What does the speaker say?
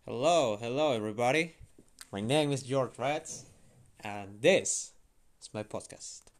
Hello everybody. My name is George Rats, and this is my podcast.